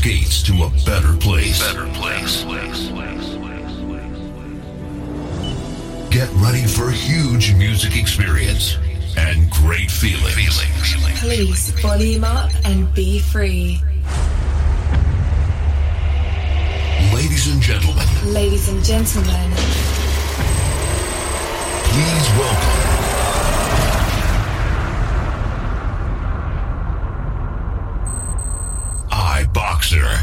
gates to a better place. Get ready for a huge music experience and great feelings. Please volume up and be free. Ladies and gentlemen. Please welcome iBoxer.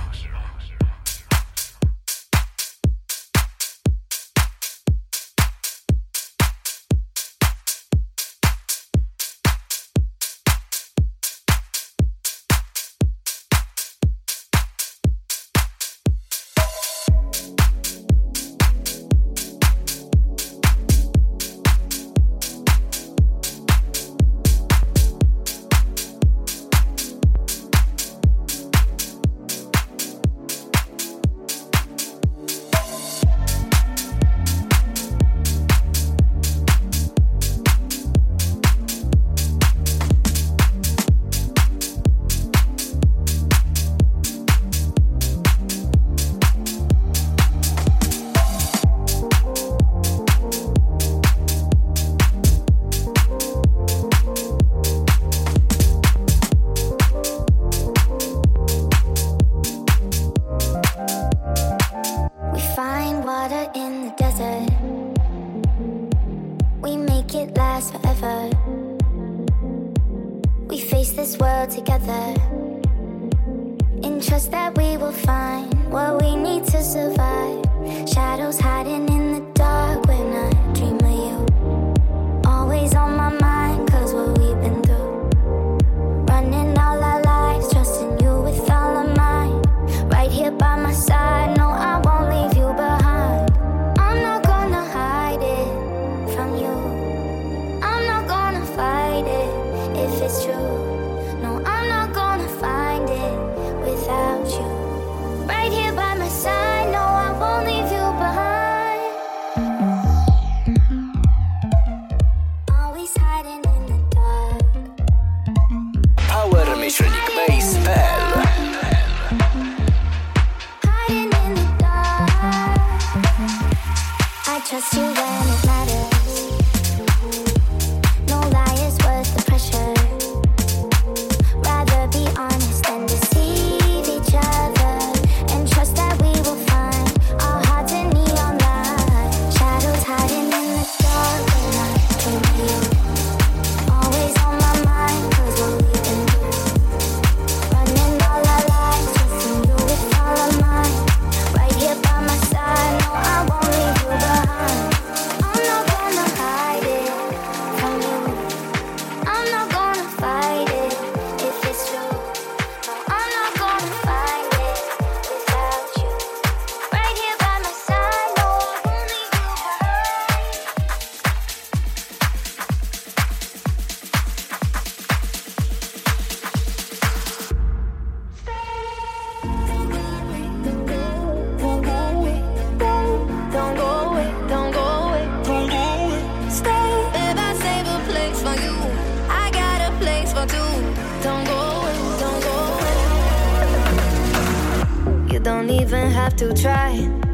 To try.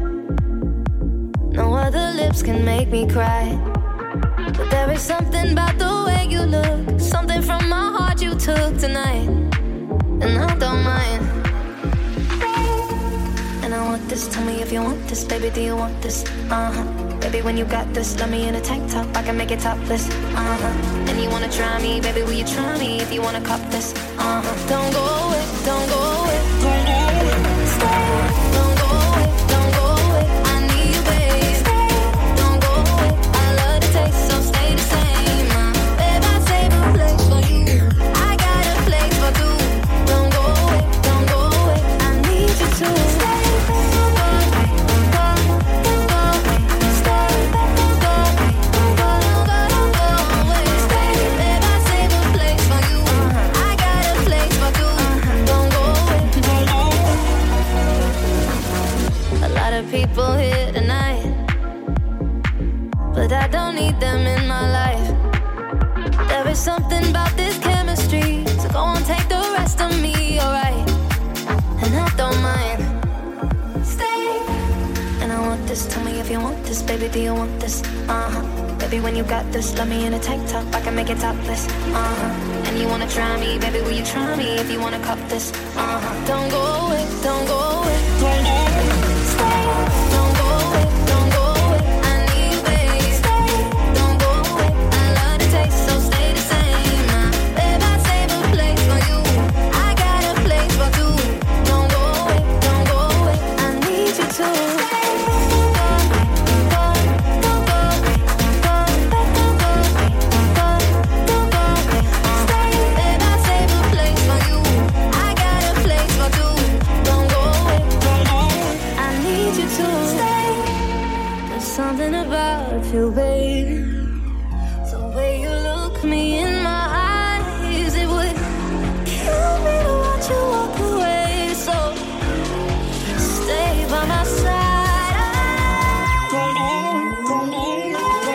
No other lips can make me cry. But there is something about the way you look, something from my heart you took tonight, and I don't mind. And I want this, tell me if you want this, baby, do you want this? Baby, when you got this, love me in a tank top, I can make it topless. And you wanna try me, baby, will you try me if you wanna cop this? Don't go away, don't go away, don't go away, stay. Don't go away, don't go away, I need you, babe. Stay, don't go away, I love the taste, so stay the same. Babe, I save a place for you, I got a place for two. Don't go away, I need you to stay. People here tonight, but I don't need them in my life. There is something about this chemistry, so go on, take the rest of me, alright. And I want this? Baby, do you want this? Baby, when you got this, love me in a tank top, I can make it topless. And you wanna try me, baby, will you try me if you wanna cup this? Don't go away, don't go away, don't go away, stay. Don't go away, don't go away, I need you, baby. Stay, don't go away, I love the taste, so stay the same. Babe, I save a place for you, I got a place for two. Don't go away, don't go away, I need you to stay. Something about you, baby. The way you look me in my eyes, it would kill me to watch you walk away. So stay by my side. Don't go away.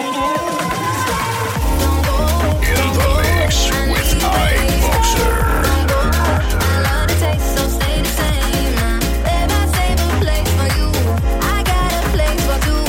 In the mix with iBoxer. I love the taste, so stay the same. Babe, I save a place for you, I got a place for two.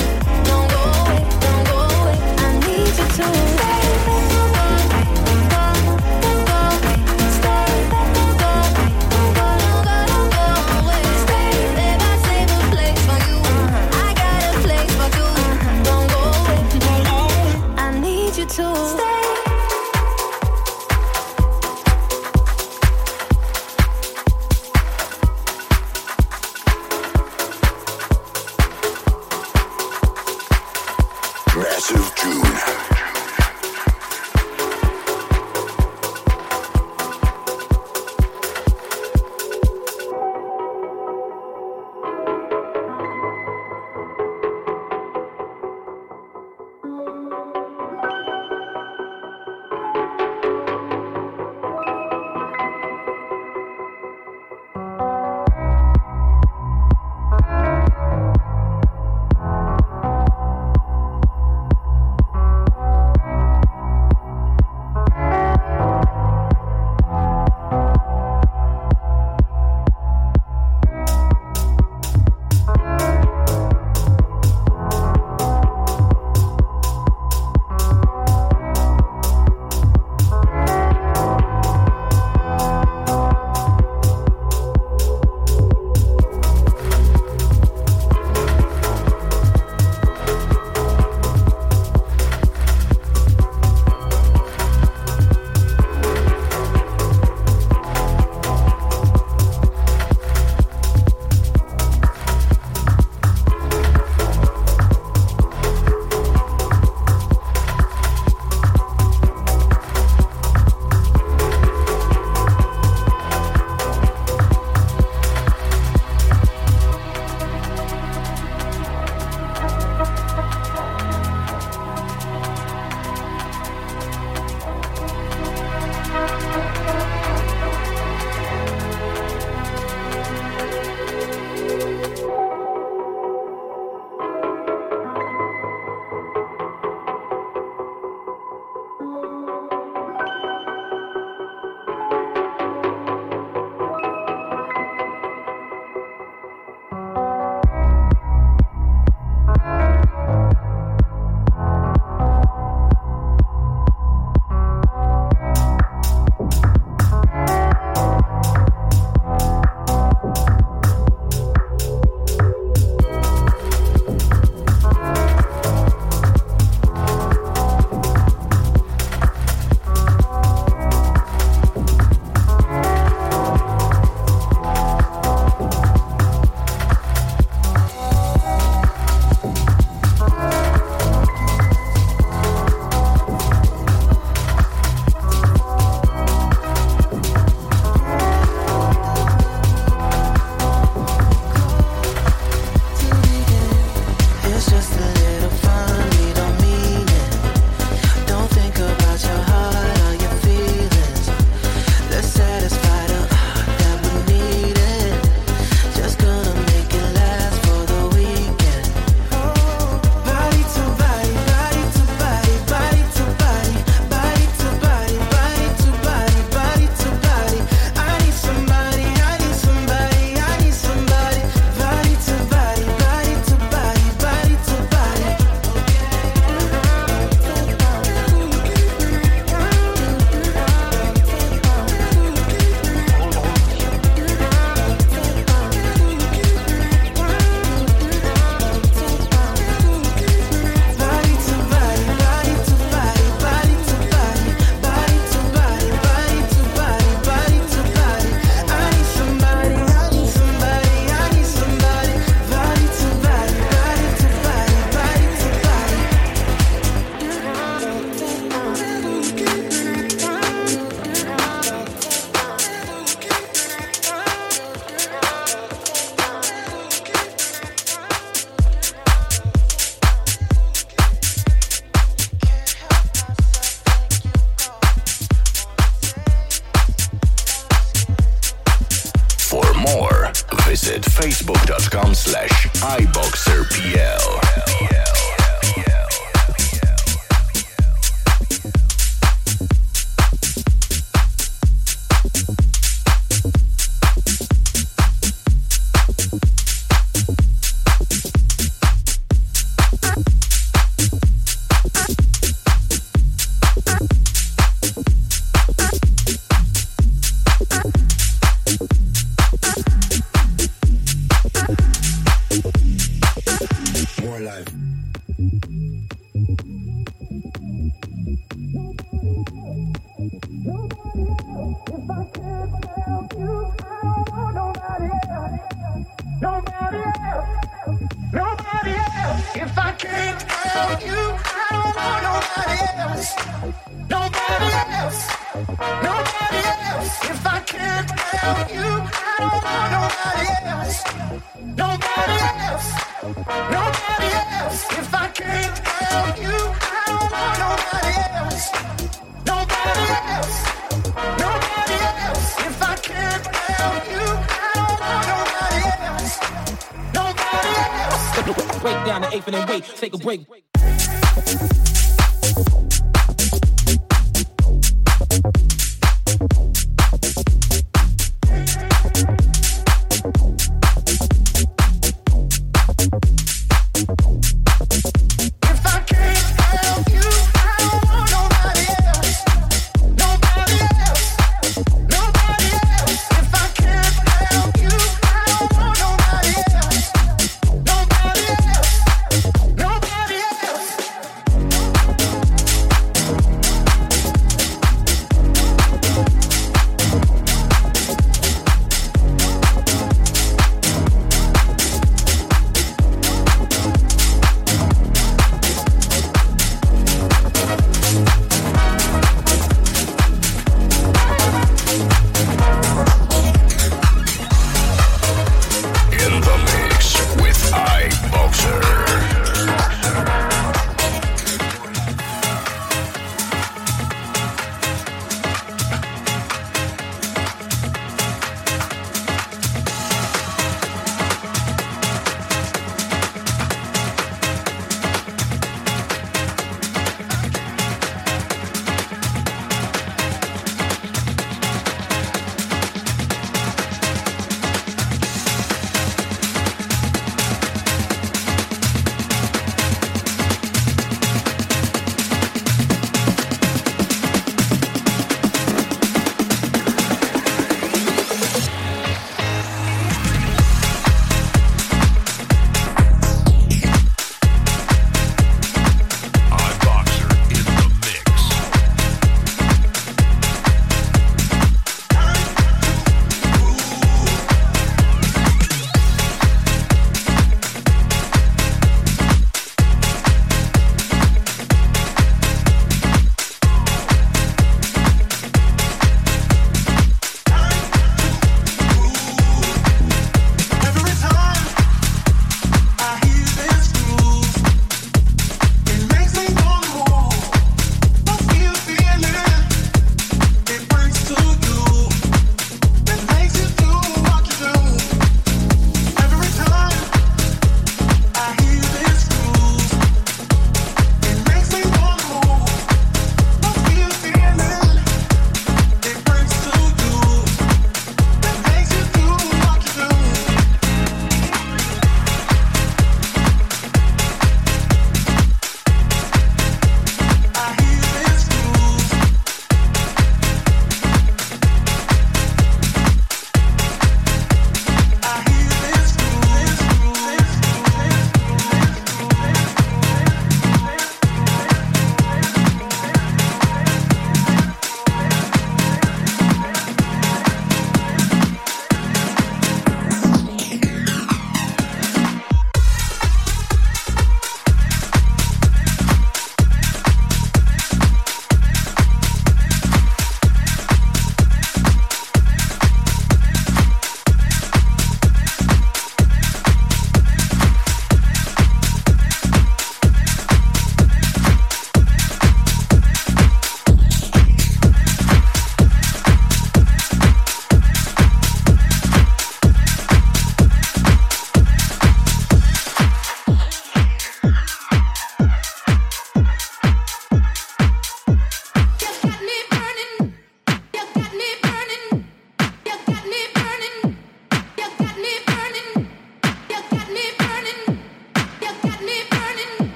Massive June. more, visit facebook.com/iboxerpl. Break down the eighth and then wait, take a break. Nobody else.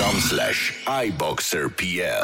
facebook.com/iboxerpl.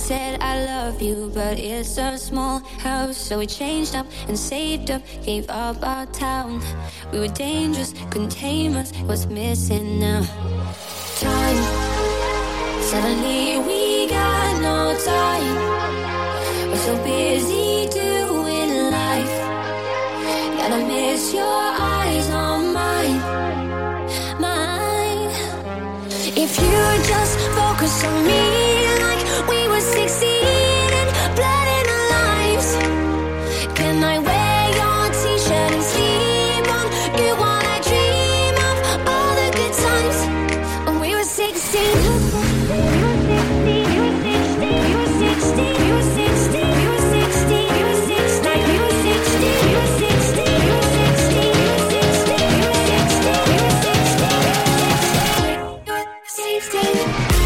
said I love you, but it's a small house. So we changed up and saved up, gave up our town. We were dangerous, couldn't tame us. What's missing now? Time. Suddenly we got no time. We're so busy doing life that I miss your eyes on mine. If you just focus on me like we were 16 and blood in our lives, can I wear your t-shirt and sleep on you while I dream of all the good times when we were 16? You were 16, you were 16, you were 16, you were 16, you were 16, like you were 16, you were 16, you were 16, you were 16, you were 16, you were 16.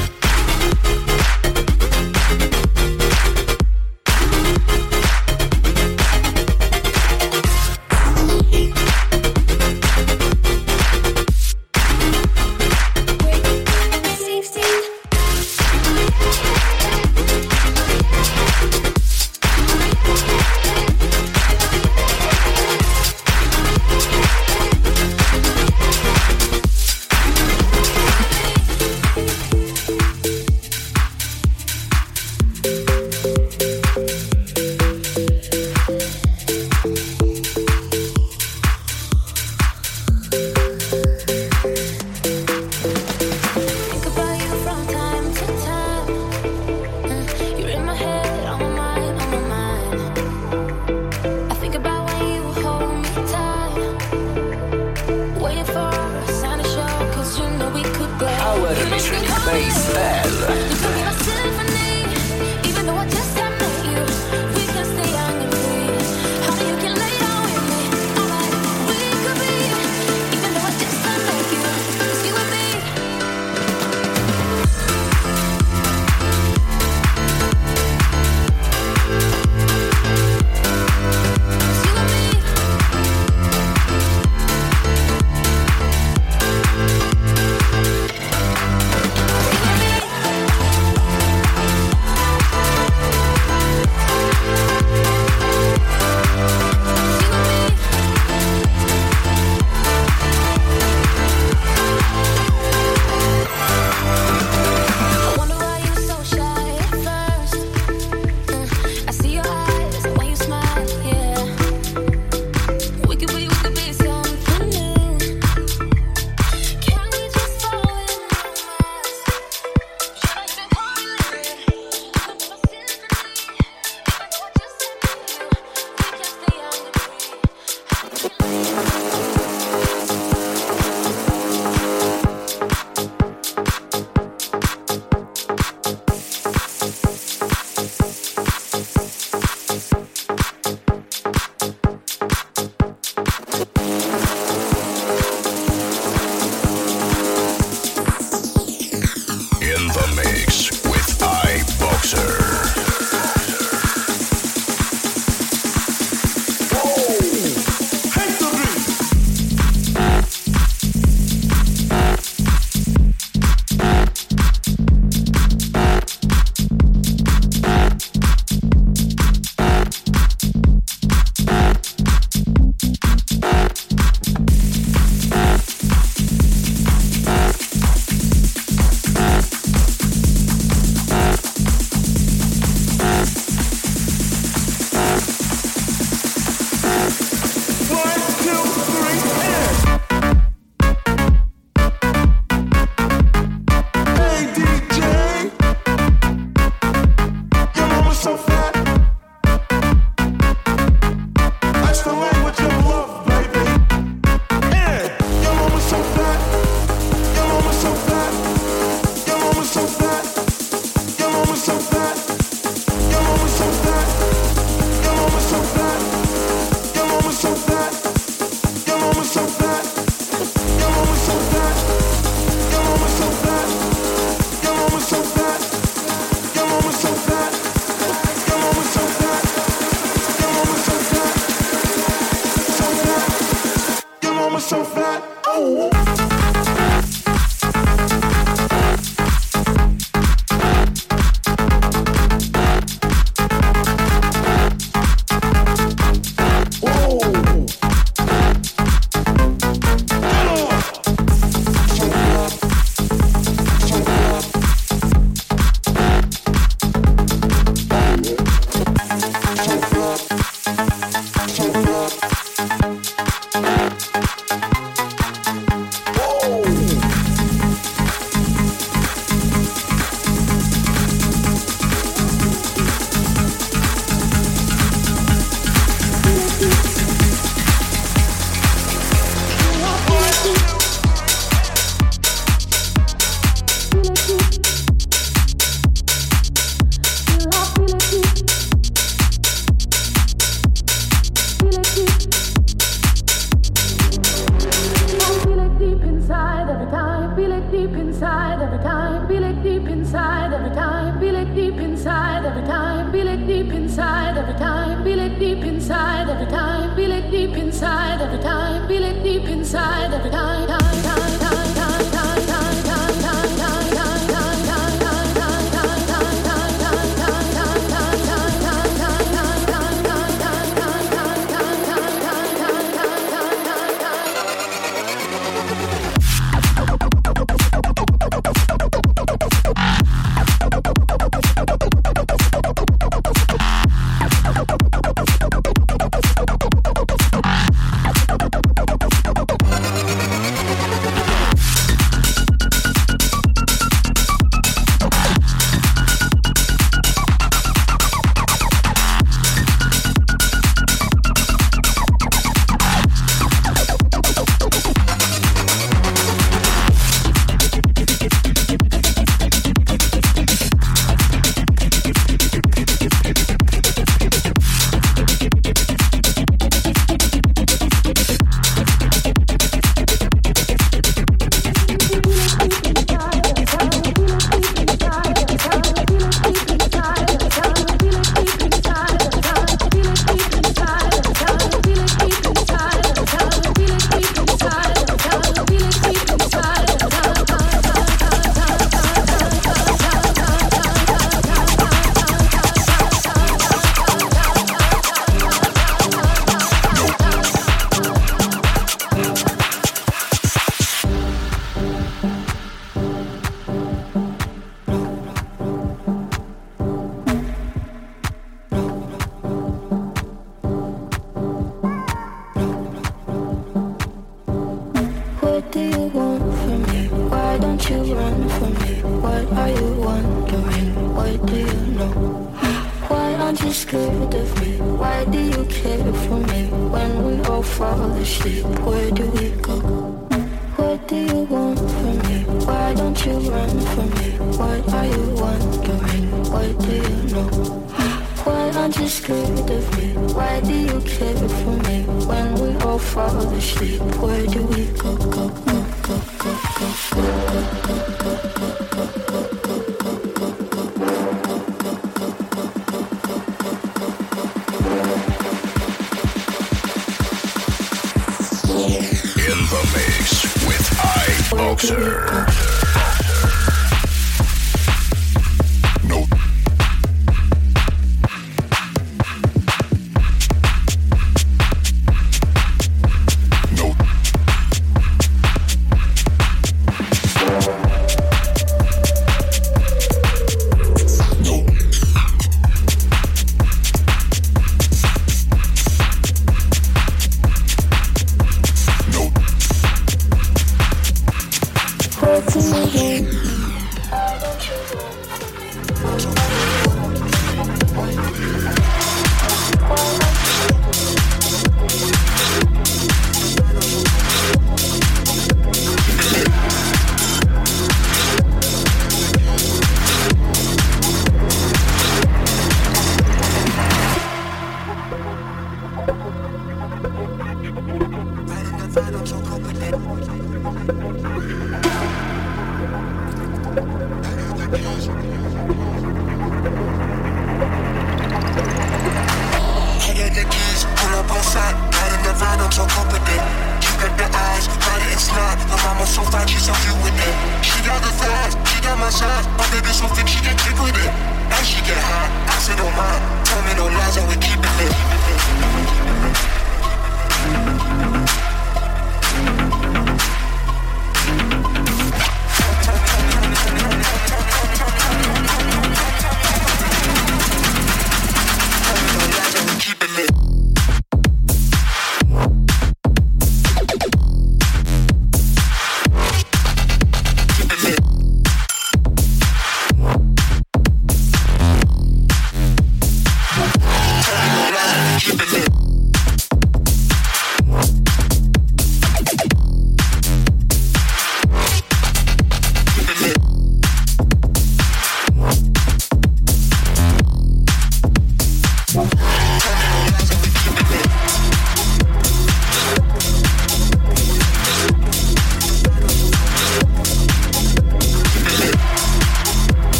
so fat. Oh. inside every time, feel it deep inside every time, feel it deep inside every time, feel it deep inside every time, time, time, time, time, time, time, time, time, time, time, time, time, time, time, time, time,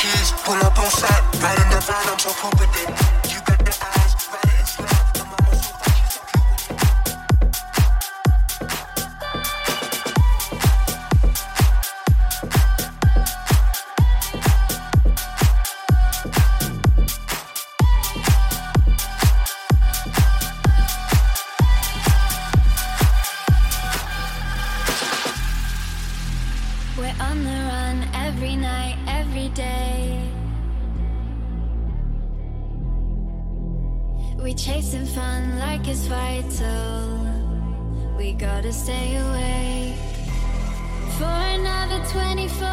keys, pull up on site, right in the van, I'm so cool with it. You got the eyes, right and slap, the mama so fine, she's so We're on the run every night, every day. We chasing fun like it's vital. We gotta stay awake for another 24.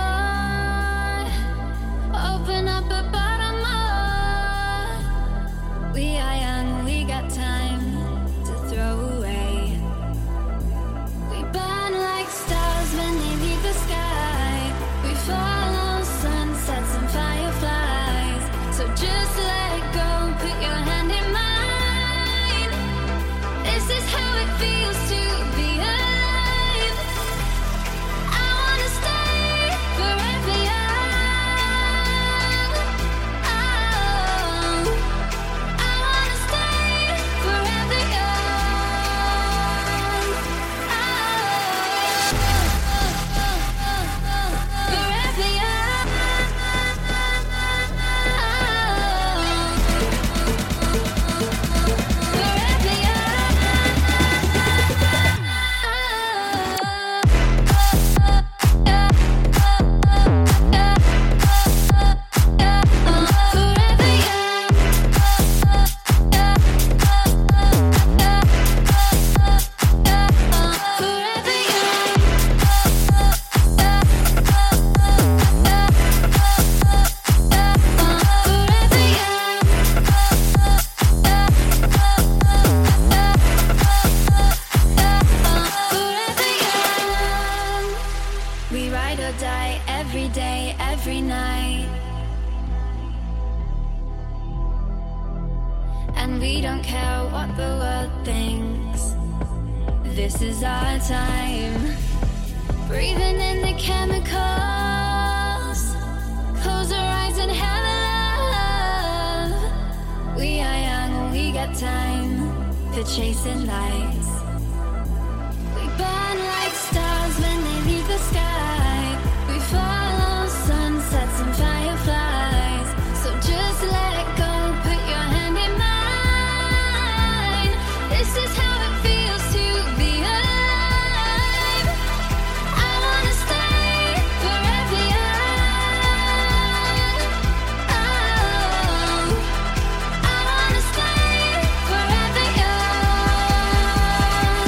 Open up a bottle more. We are young, we got time to throw away. We burn like stars when they leave the sky. We follow sunsets and fireflies. So just let go, put your hand in mine. This is how it feels to be alive. I wanna stay forever young. Oh, I wanna stay forever young. Forever young. Forever We ride or die every day, every night. And we don't care what the world thinks. This is our time. Breathing in the chemicals. Close our eyes and have a love. We are young, we got time for chasing lights. We burn like stars when they leave the sky. We follow sunsets and fireflies. So just let go, put your hand in mine. This is how it feels to be alive. I wanna stay forever young. Oh, I wanna stay forever young.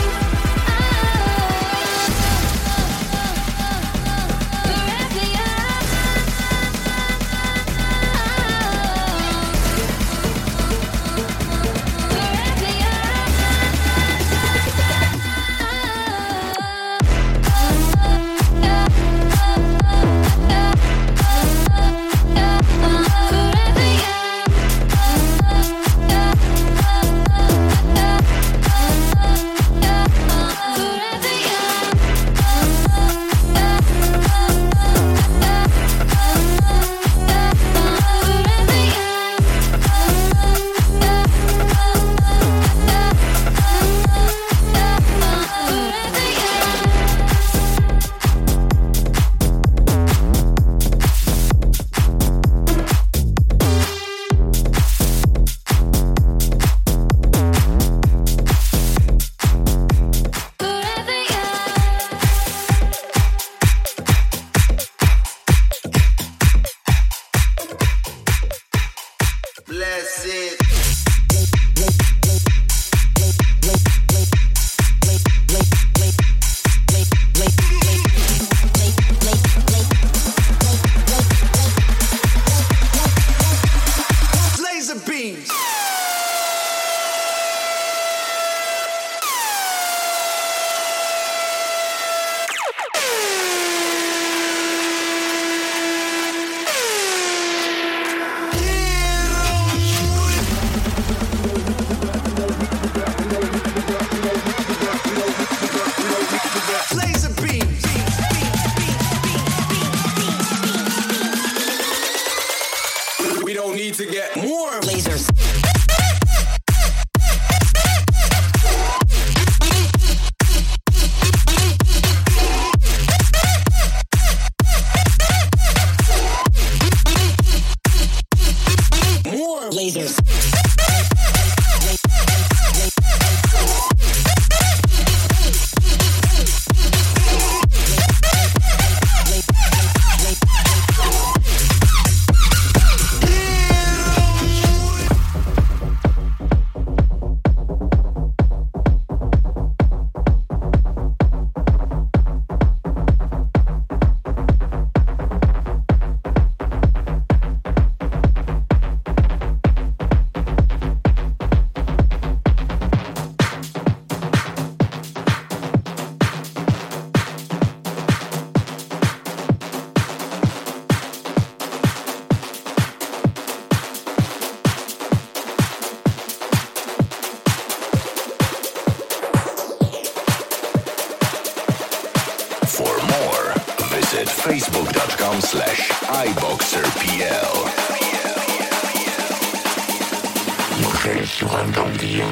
Forever young. Forever bless it. Laser beams. we don't need to get more lasers. More lasers. Facebook.com/iBoxerPL. Mujeres jugando un día.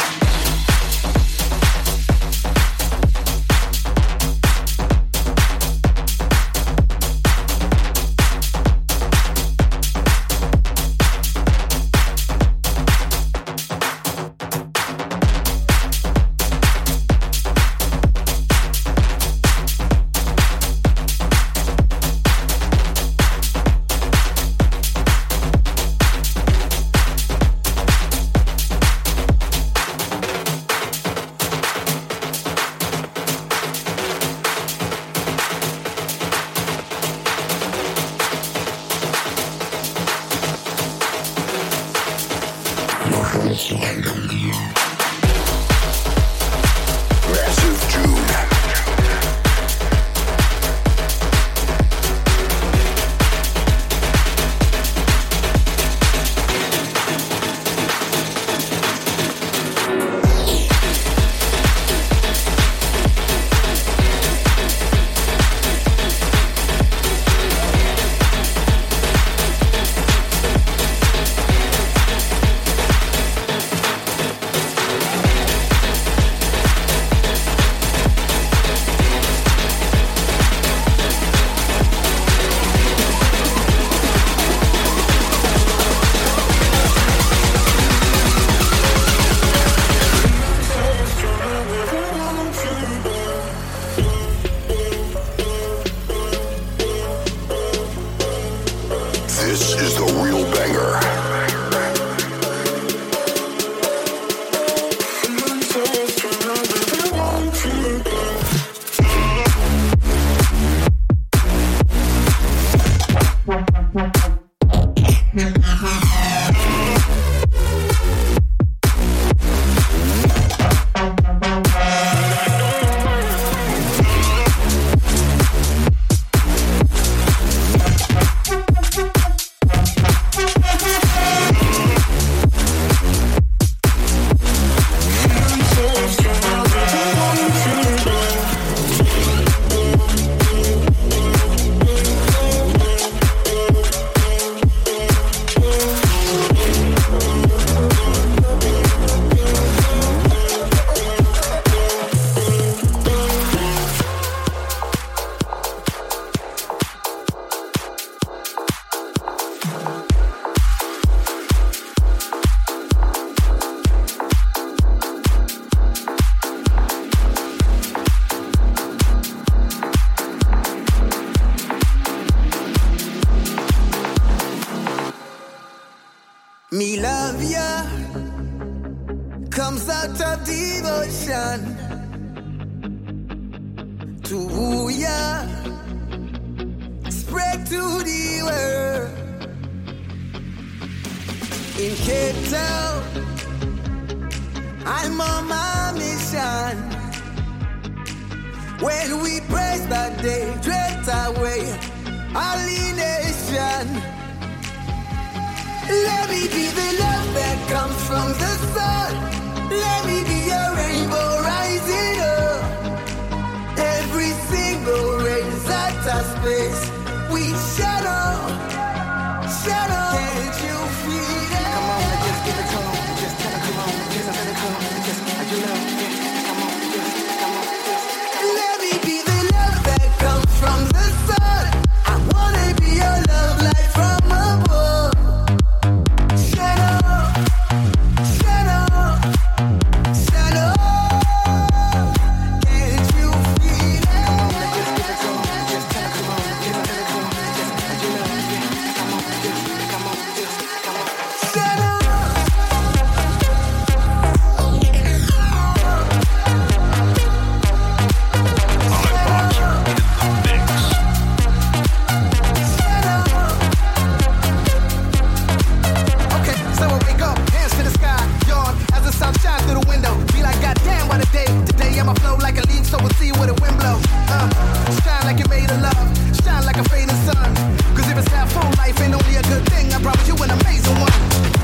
Me love ya comes out of devotion to ya, spread to the world. In Cape Town, I'm on my mission. When we praise that day, drift away our nation. Let me be the love that comes from the sun. Let me be a rainbow rising up. Every single rays out of space, we shadow, shadow. Can't you feel it. Come on, just give it to 'em. Just tell 'em, come on, just tell 'em, come on, just you know, yeah. Come on, just come on, just come on. Let me be the love that comes from the sun. I wanna be your love light from above. Shine on, shine on, shine on. Can't you feel it? Come on, just give it to 'em. Just tell 'em, come on, just tell 'em, come on, just you know, yeah. Come on, just come on, just come on. Shine on. Okay, so I wake up, hands to the sky, yawn as the sun shines through the window. Be like, goddamn, what a day! Today I'ma flow like a leaf, so we'll see where the wind blow. Shine like you're made of love, shine like a fading sun. 'Cause if it's half full, life ain't only a good thing. I promise you an amazing one.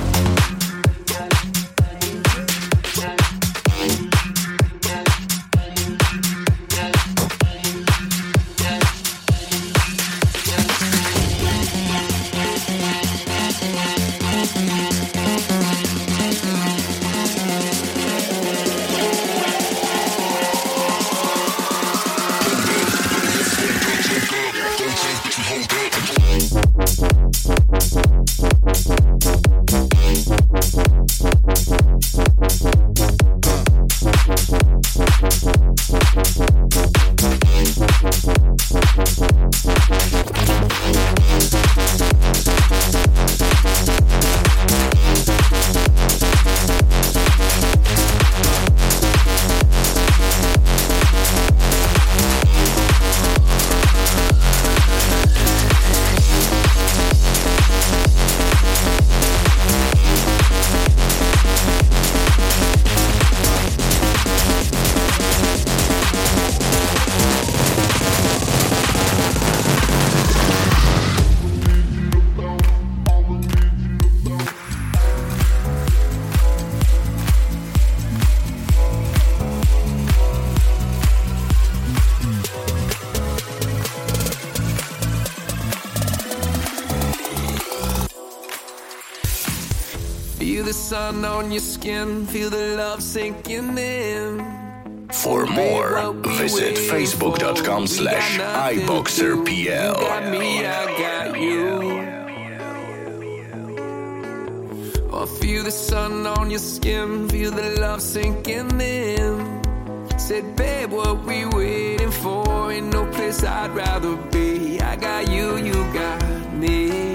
Feel the sun on your skin, feel the love sinking in. For more, visit facebook.com/iboxerpl. Got me, I got you. Oh, feel the sun on your skin, feel the love sinking in. Said, babe, what we waiting for? Ain't no place I'd rather be. I got you, you got me.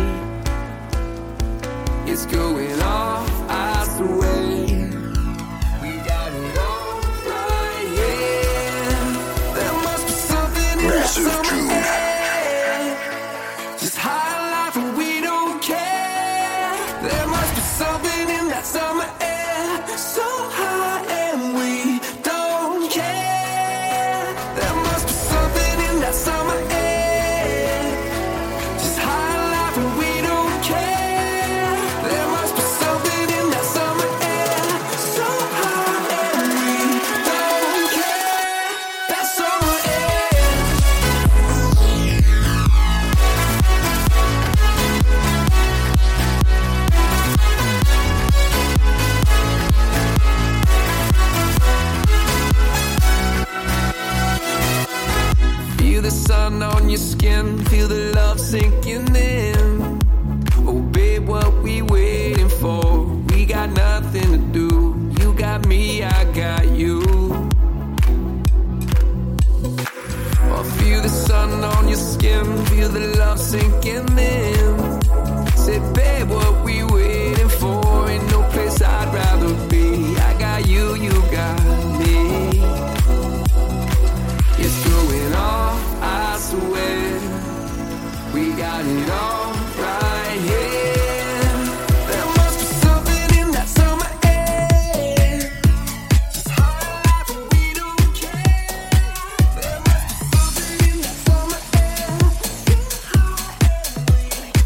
It's going off, I swear. We got it all right here. There must be something in that summer air. Just high life and we don't care. There must be something in that summer air. So high and we don't care. There must be something in that summer air. Just high life and we don't care. There must be something in that summer air. So high and we don't care. That summer air. Feel the sun on your skin, feel the love sinking in. Oh, babe, what we waiting for? We got nothing to do. You got me, I got you. Oh, feel the sun on your skin, feel the love sinking in. Said, babe, what we waiting for? Ain't no place I'd rather be. I got you, you got me. It's going off, I swear. We got it all right here. There must be something in that summer air. Just high life and we don't care. There must be something in that summer air. Get high and we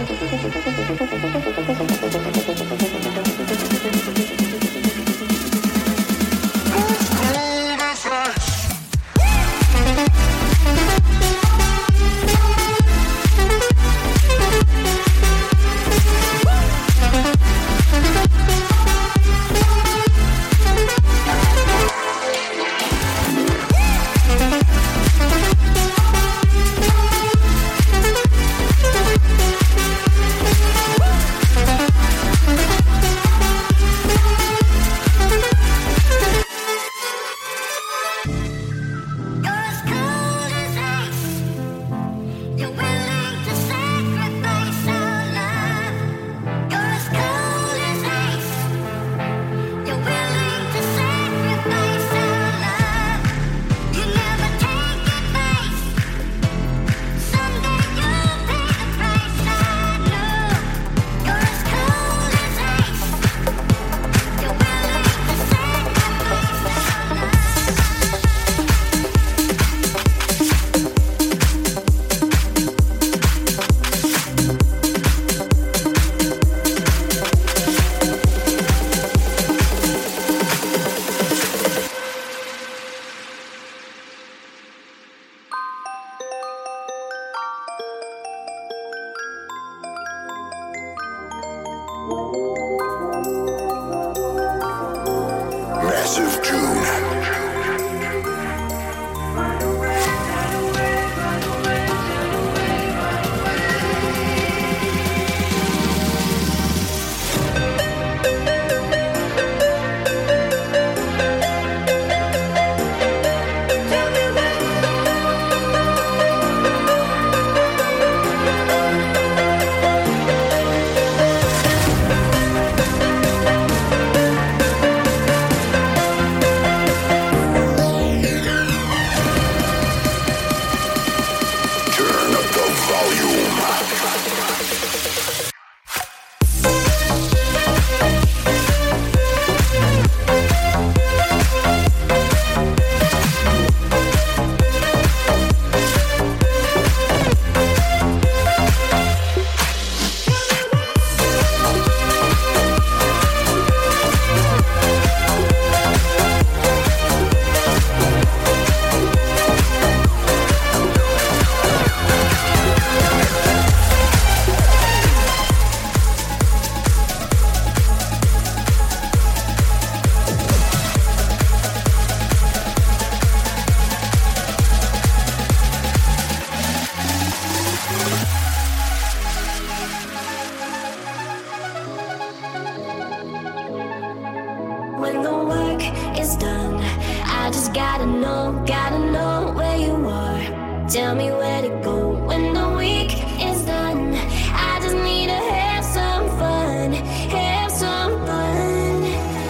Tell me where to go when the week is done. I just need to have some fun, have some fun.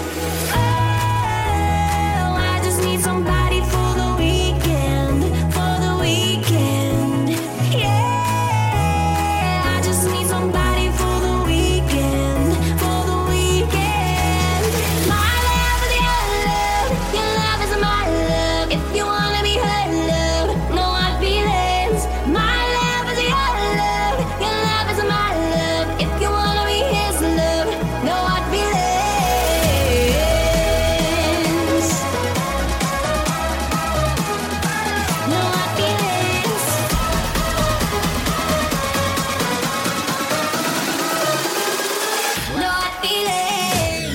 Oh, I just need somebody for the weekend, for the weekend. Yeah, I just need somebody for the weekend, for the weekend. My love is your love, your love is my love. If you wanna be her love, no hard feelings. My love is your love, your love is my love. If you wanna be his love, no hard feelings. No hard feelings. No hard feelings.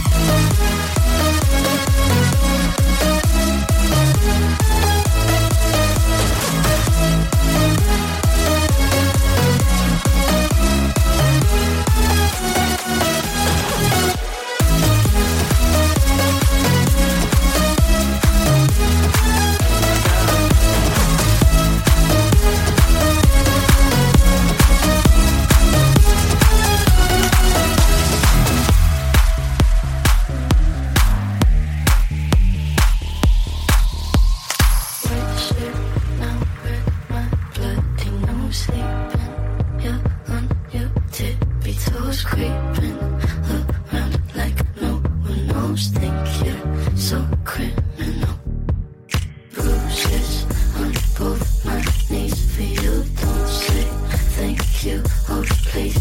Creeping around like no one knows. Think you're so criminal. Bruises on both my knees for you. Don't say thank you. Oh, please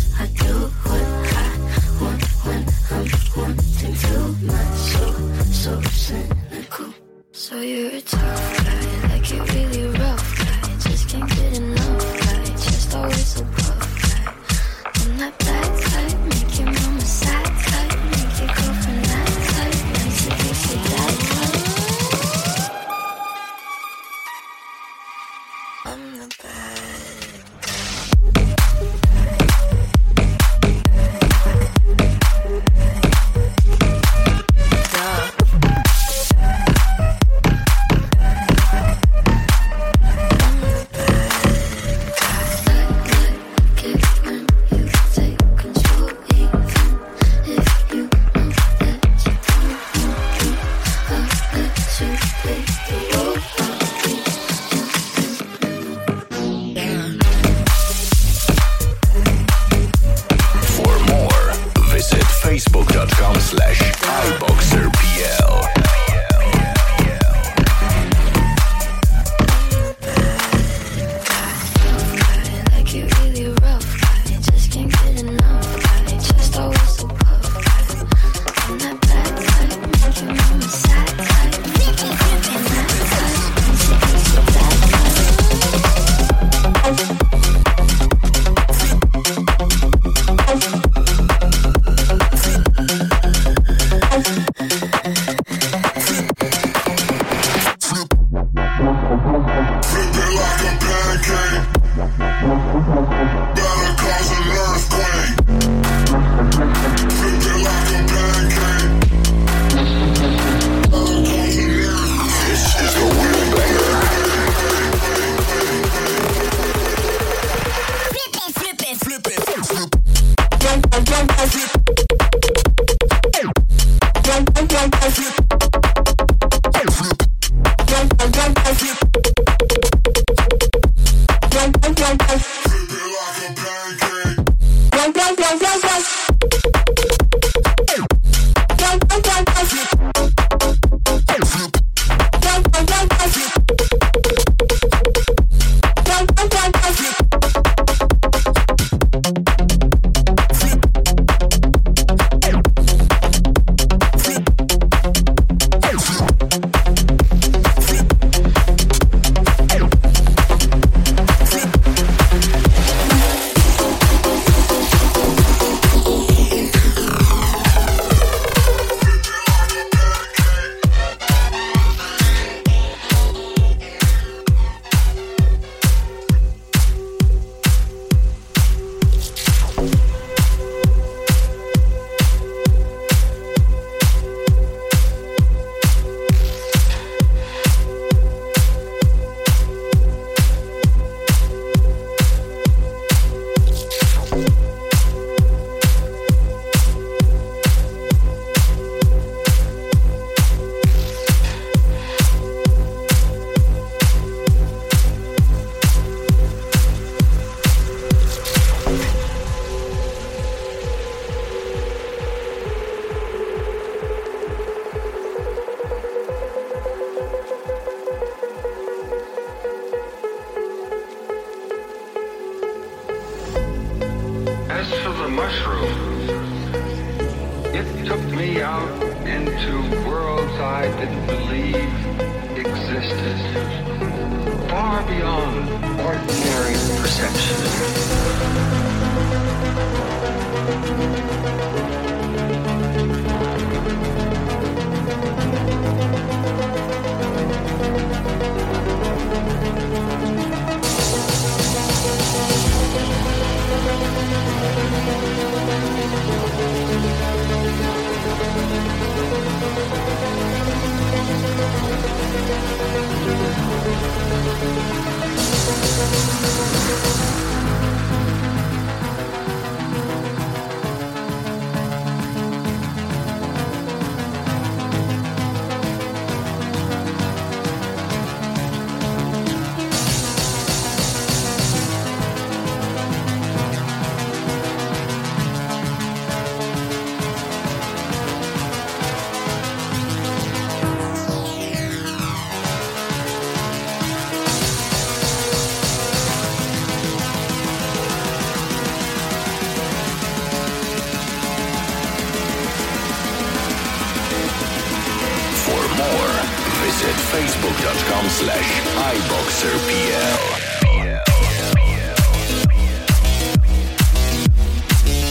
Facebook.com/iBoxerPL.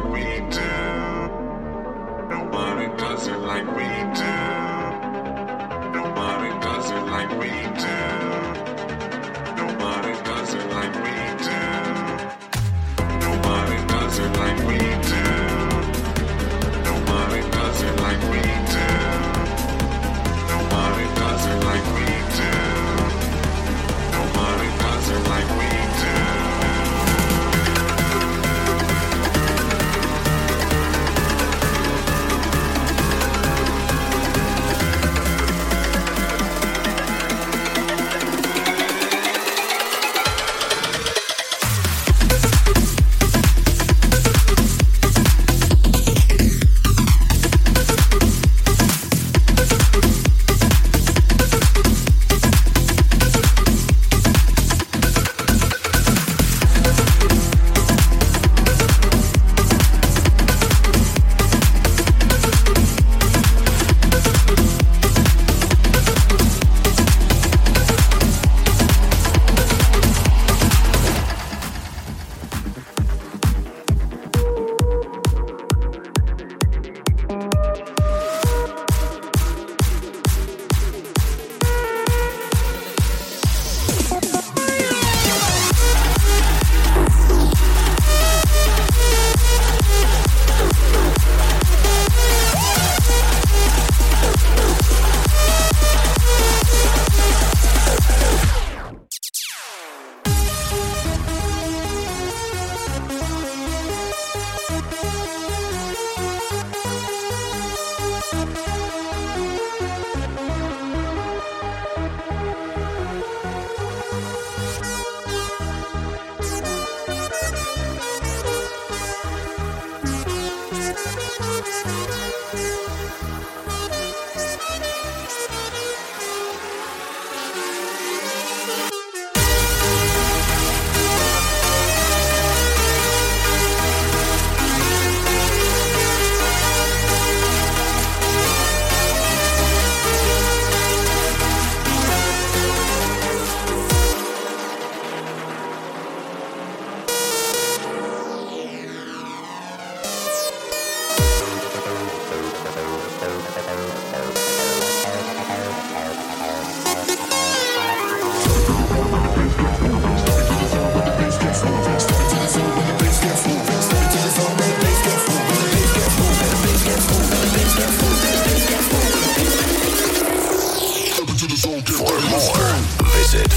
Visit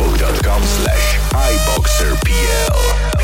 facebook.com/iBoxerPL.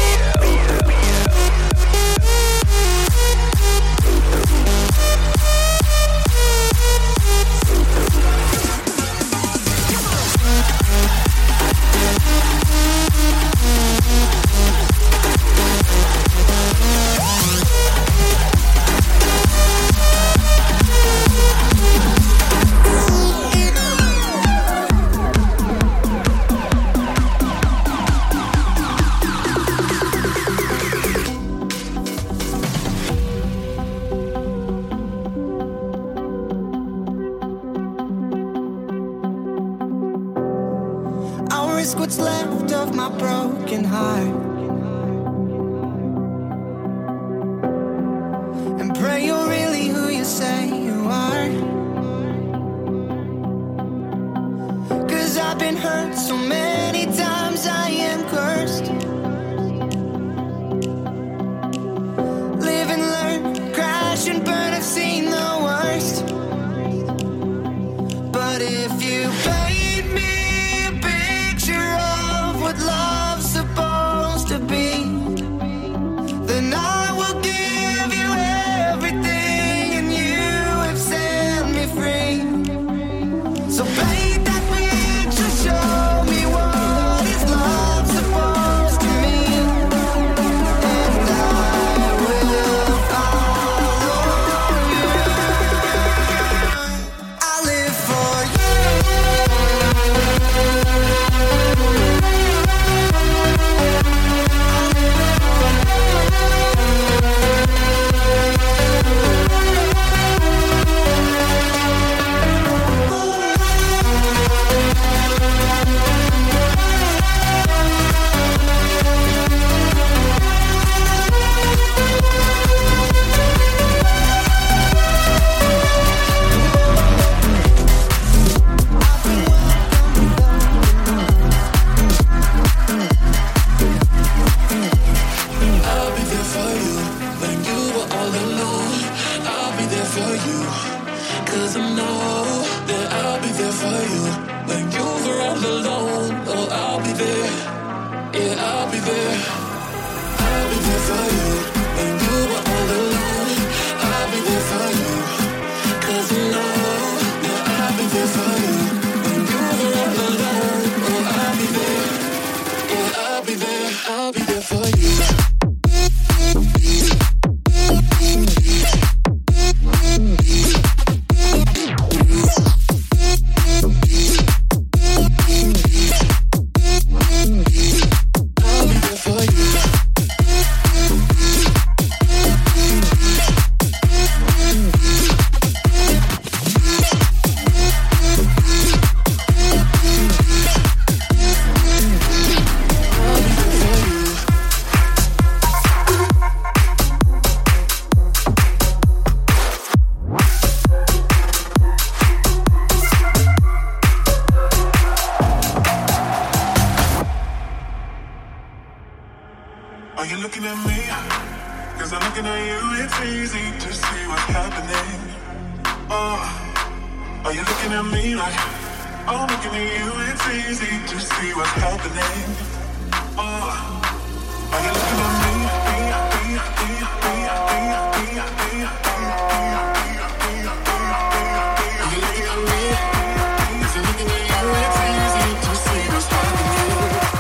What's left of my broken heart, and pray you're really who you say you are. 'Cause I've been hurt so many times, I am cursed. Live and learn, crash and burn, I've seen the worst. But if you paint me what love's supposed to be, then I will give you everything, and you have set me free. So paint that picture, show me what is love supposed to mean, and I will follow you. I live for you. for you when you're all alone. Oh, I'll be there. Yeah, I'll be there. I'll be there for you when you are all alone. I'll be there for you, 'cause you know. Yeah, I'll be there for you when you're all alone. Oh, I'll be there. Yeah, I'll be there. I'll be there for you. Are you looking at me? 'Cause I'm looking at you, it's easy to see what's happening. Oh, are you looking at me like I'm looking at you, it's easy to see what's happening. Oh, are you looking at me? Are you looking at me? Cause I'm looking at you, it's easy to see what's happening.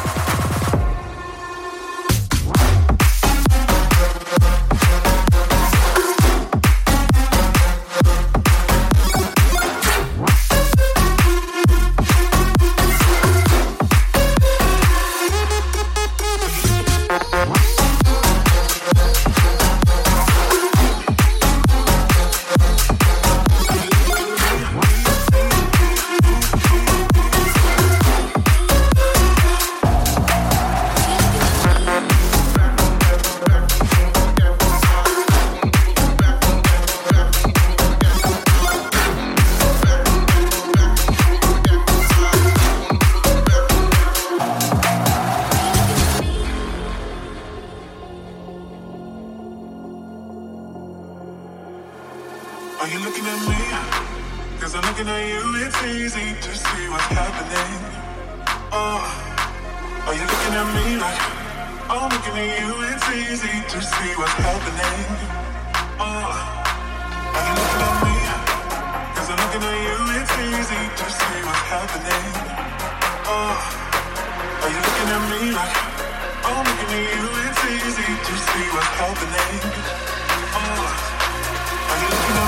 Are you looking at me? 'Cause I'm looking at you, it's easy to see what's happening. Oh, are you looking at me like I'm looking at you, it's easy to see what's happening. Oh, are you looking at me? 'Cause I'm looking at you, it's easy to see what's happening. Oh, are you looking at me like I'm looking at you, it's easy to see what's happening. Oh, are you looking at